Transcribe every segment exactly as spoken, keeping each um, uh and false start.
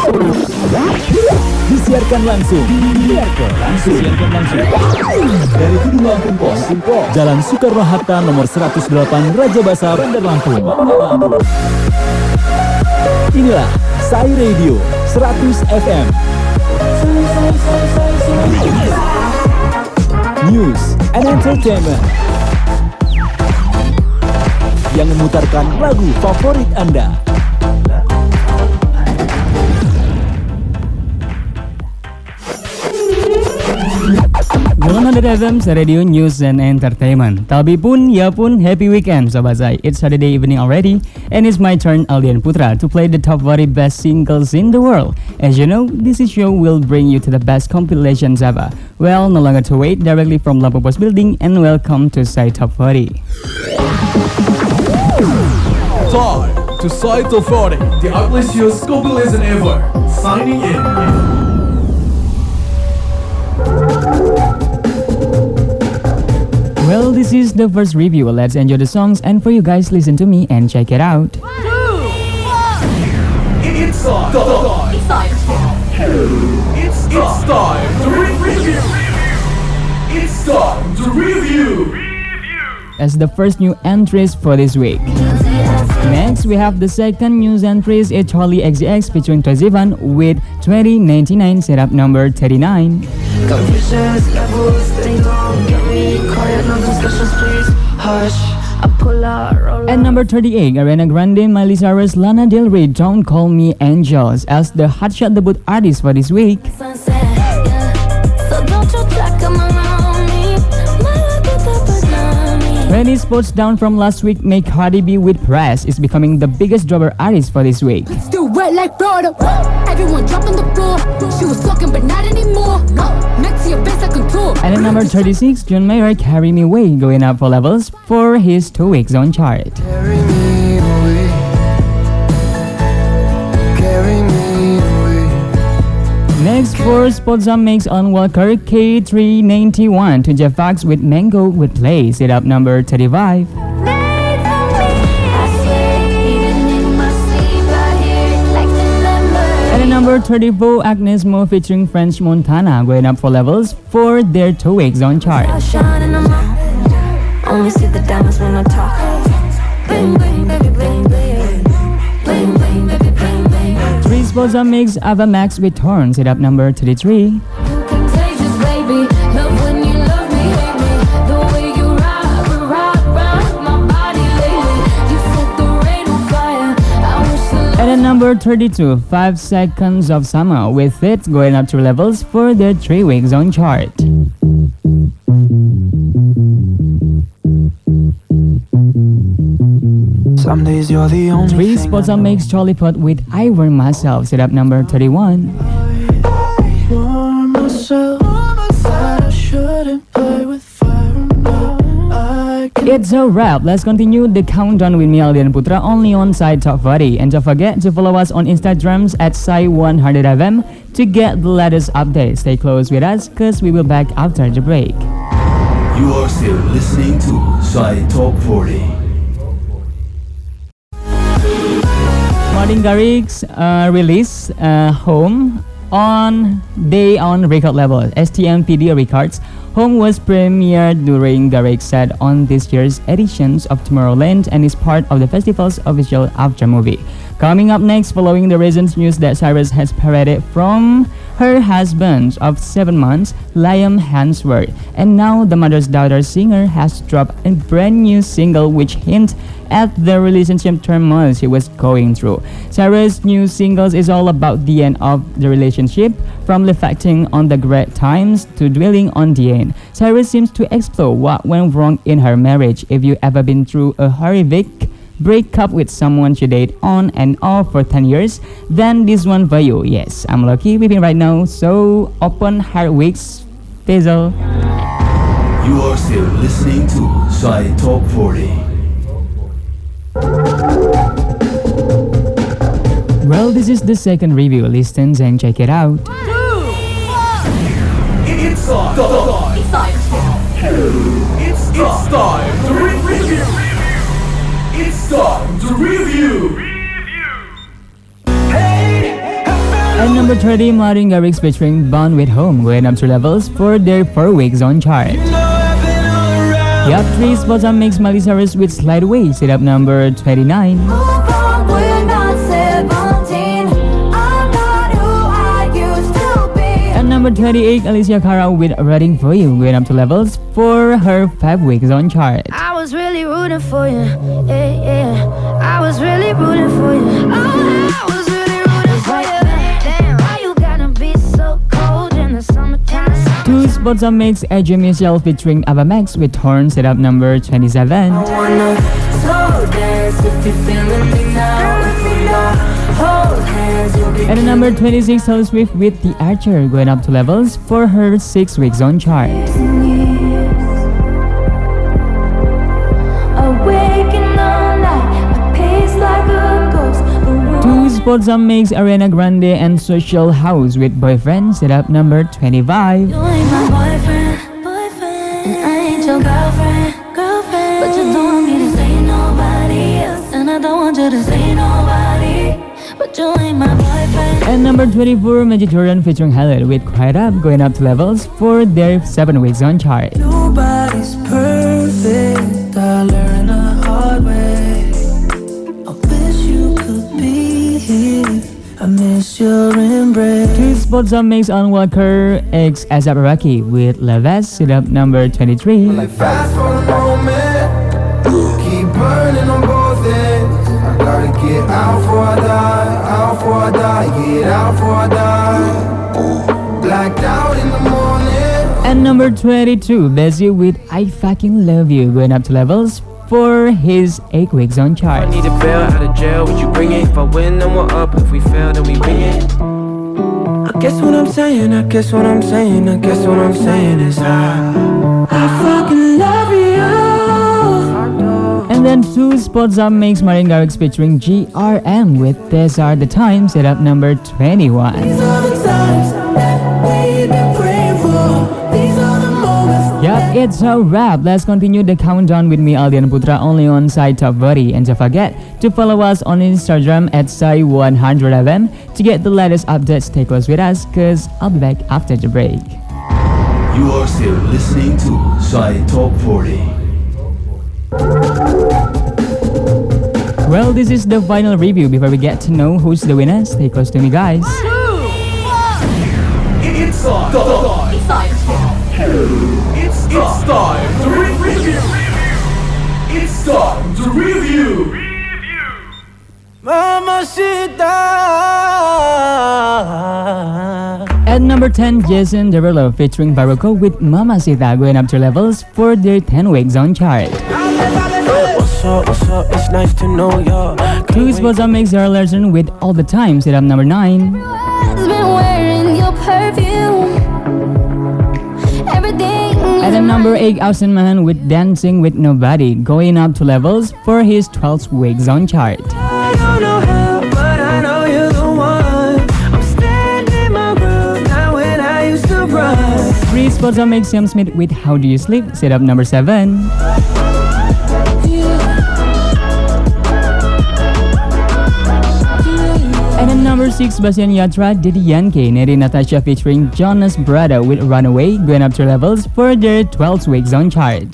Disiarkan langsung, disiarkan langsung, disiarkan langsung dari Gedung Lampung Pos, Jalan Soekarno-Hatta nomor seratus delapan Raja Basa, Bandar Lampung. Inilah Sai Radio seratus F M. News and Entertainment yang memutarkan lagu favorit Anda. seratus F M Radio News and Entertainment. Tapi pun, ya pun, happy weekend Sobat Zai. It's Saturday evening already, and it's my turn, Aldian Putra, to play the top forty best singles in the world. As you know, this show will bring you to the best compilations ever. Well, no longer to wait, directly from Lampung Pos Building, and welcome to Sai Top forty. Time to Sai Top forty, the ugliest show's compilation ever. Signing in. Well, this is the first review. Let's enjoy the songs, and for you guys, listen to me and check it out. It's time. It's time. It's time to review. It's time to review. As the first new entries for this week. Next, we have the second news entries, a Charlie X C X featuring Twazivan with twenty ninety-nine, set up number thirty-nine. At number thirty-eight, Ariana Grande, Miley Cyrus, Lana Del Rey, Don't Call Me Angels as the hotshot debut artist for this week. twenty spots down from last week, make Cardi B with Press is becoming the biggest dropper artist for this week. Still wet like Florida. Everyone dropping the floor. She was talking but not anymore. Next to your face I control. And at number thirty-six, John Mayer, Carry Me Away, going up for levels for his two weeks on chart. Carry me away. Carry me away. Next, four spots up makes on Walker, K three ninety-one to Jeff Fox with Mango with Play, set up number thirty-five. And at number thirty-four, Agnes Mo featuring French Montana, going up for levels for their two weeks on chart. Only see the diamonds when I talk. Bling bling baby bling bling. Bling bling baby bling bling. Three spots up makes Ava Max with Torn, set up number thirty-three. Contagious baby. Love when you love me, hate me. The way you rock, rock, rock my body lately. You set the rain on fire. I wish the And at number thirty-two, Five Seconds of Summer with it, going up three levels for their three weeks on chart. Some days you're the only Three thing spots I up know. makes Charlie Puth with I Were Myself, set up number thirty-one. For myself, that I shouldn't play with fire now. I can It's a wrap. Let's continue the countdown with me, Aldian Putra, only on Sai Top forty. And don't forget to follow us on Instagrams at Sai one hundred F M to get the latest updates. Stay close with us, cause we will be back after the break. You are still listening to Sai Top forty. Martin Garrix uh, released uh, Home on Day on record label, S T M P D Records. Home was premiered during Garrix set on this year's editions of Tomorrowland and is part of the festival's official after movie. Coming up next, following the recent news that Cyrus has separated from her husband of seven months, Liam Hemsworth, and now the mother's daughter singer has dropped a brand new single which hints at the relationship turmoil she was going through. Cyrus' new singles is all about the end of the relationship, from reflecting on the great times to dwelling on the end. Cyrus seems to explore what went wrong in her marriage. If you ever been through a horrific break up with someone you date on and off for ten years, then this one for you. Yes, I'm lucky with him right now, so open heart weeks, Faisal. You are still listening to Sai Top forty. Well, this is the second review. Listen and check it out. It's time. It's time. It's time to review. It's time to review. Hey, I fell At number thirty, Martin Garrix featuring Bond with Home going up two levels for their four weeks on chart. You have three spots on Mix Miley Cyrus with Slide Away, sit up number twenty-nine. Move on, we're not seventeen. I'm not who I used to be. At number twenty-eight, Alicia Cara with Reading For You going up two levels for her five weeks on chart. I was really rooting for you, yeah, yeah. I was really rooting for you. Oh, I was really rooting for you. Damn, why you gotta be so cold in the summertime? Two spots on Mix, Edge Michelle featuring Ava Max with Torn, set up number twenty-seven. I wanna slow dance if you're feeling me now. If we not hold hands, you'll be. At the number twenty-six, Taylor Swift with The Archer going up two levels for her six weeks on chart. Awaken all night, a pace like a ghost. The room Two spots on Mix, Ariana Grande and Social House with Boyfriend, set up number twenty-five. You ain't my boyfriend, boyfriend, and I ain't your girlfriend, girlfriend. But you don't want me to say nobody else, and I don't want you to say nobody. But you ain't my boyfriend. At number twenty-four, Magic Jordan featuring Haled with Quiet Up going up two levels for their seven weeks on chart. Nobody's perfect, I learned the hard way. I wish you could be here, I miss your embrace. Two spots on Mix on Walker X ASAP Rocky with Leves, sit up number twenty-three. Like fast for the moment, keep burning on both ends. I gotta get out before I die, out before I die, get out before I die. Blacked out in the morning. At number twenty-two, Bezzy with I Fucking Love You going up two levels for his eight weeks on chart. I need a bail out of jail, would you bring it? If I win, then we're up. If we fail, then we wing it. I guess what I'm saying, I guess what I'm saying, I guess what I'm saying is I, I fucking love you. And then two spots up makes Martin Garrix featuring G R M with These Are The Times, set up number twenty-one. These are the times that we've been praying for. These are the moments. Yup, it's a wrap. Let's continue the countdown with me, Aldian Putra, only on Sai Top forty. And don't forget to follow us on Instagram at Sai one hundred F M to get the latest updates. Stay close with us, cause I'll be back after the break. You are still listening to Sai Top forty. Well, this is the final review. Before we get to know who's the winner, stay close to me, guys. It's time. It's it's time to re- review. It's time to review. At number ten, Jason Derulo featuring Barroco with Mamacita going up two levels for their ten weeks on chart. What's up, what's up, it's nice to know ya. Two spots on Mix Zara Larson with All the Time, set up number nine. Has been wearing your perfume. Everything. At the number eight, Austin Mahan with Dancing with Nobody going up two levels for his twelve weeks on chart. I don't know how, but I know you're the one. I'm standing my ground now when I used to run. Three spots on Mix Sam Smith with How Do You Sleep, set up number seven. And at number six, Bastian Yatra, Diddy Yankee, Neri Natasha featuring Jonas Brother with Runaway going up two levels for their twelve weeks on chart.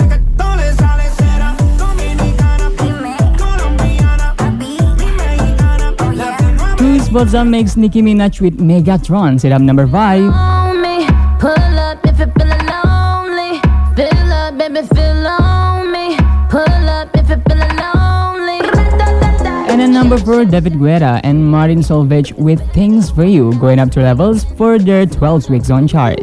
Two spots on Mix Nicki Minaj with Megatron, set up number five. On me, pull up if you're feeling lonely. Fill up, baby, feel on me. Pull up if you're feeling lonely. And at number four, David Guetta and Martin Solveig with Things For You going up two levels for their twelve weeks on chart.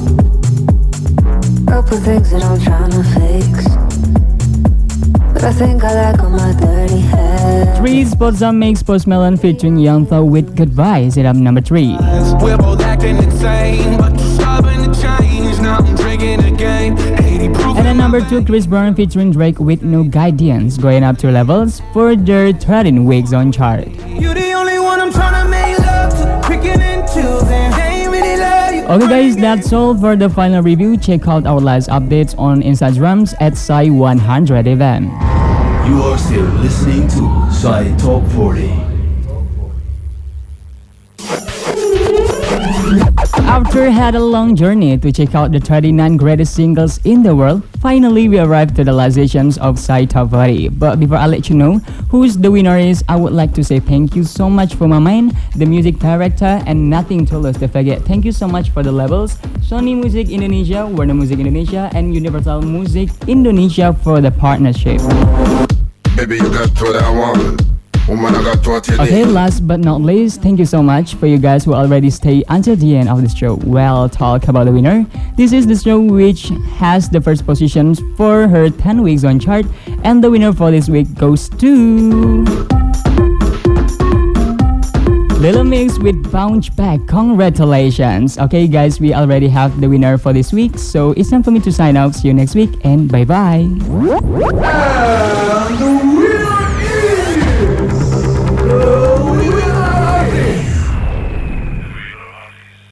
Couple things that I'm trying to fix, but I think I like all my dirty head. Three spots on Makes Post Malone featuring Young Thug with Goodbye, set up number three. We're both acting insane, but you're stubborn to change. Now I'm drinking again. eighty proof. And at number two, Chris Brown featuring Drake with No Guidance going up two levels for their thirteen weeks on chart. You're the only one I'm trying to make love to. Picking and choosing. They ain't really love you. Okay guys, that's all for the final review. Check out our last updates on Instagrams at Sai one hundred F M. You are still listening to Sai Top forty. After had a long journey to check out the thirty-nine greatest singles in the world, finally we arrived to the last editions of Sai Top forty. But before I let you know who's the winner is, I would like to say thank you so much for Mamain, the music director, and Nothing to Lose to Forget. Thank you so much for the labels, Sony Music Indonesia, Warner Music Indonesia, and Universal Music Indonesia for the partnership. Baby, you got what I want. Woman, I got what you Okay, need. last but not least, thank you so much for you guys who already stay until the end of the show. Well, talk about the winner. This is the show which has the first positions for her ten weeks on chart, and the winner for this week goes to Little Mix with Bounce Back. Congratulations. Okay guys, we already have the winner for this week, so it's time for me to sign out. See you next week and bye bye. And the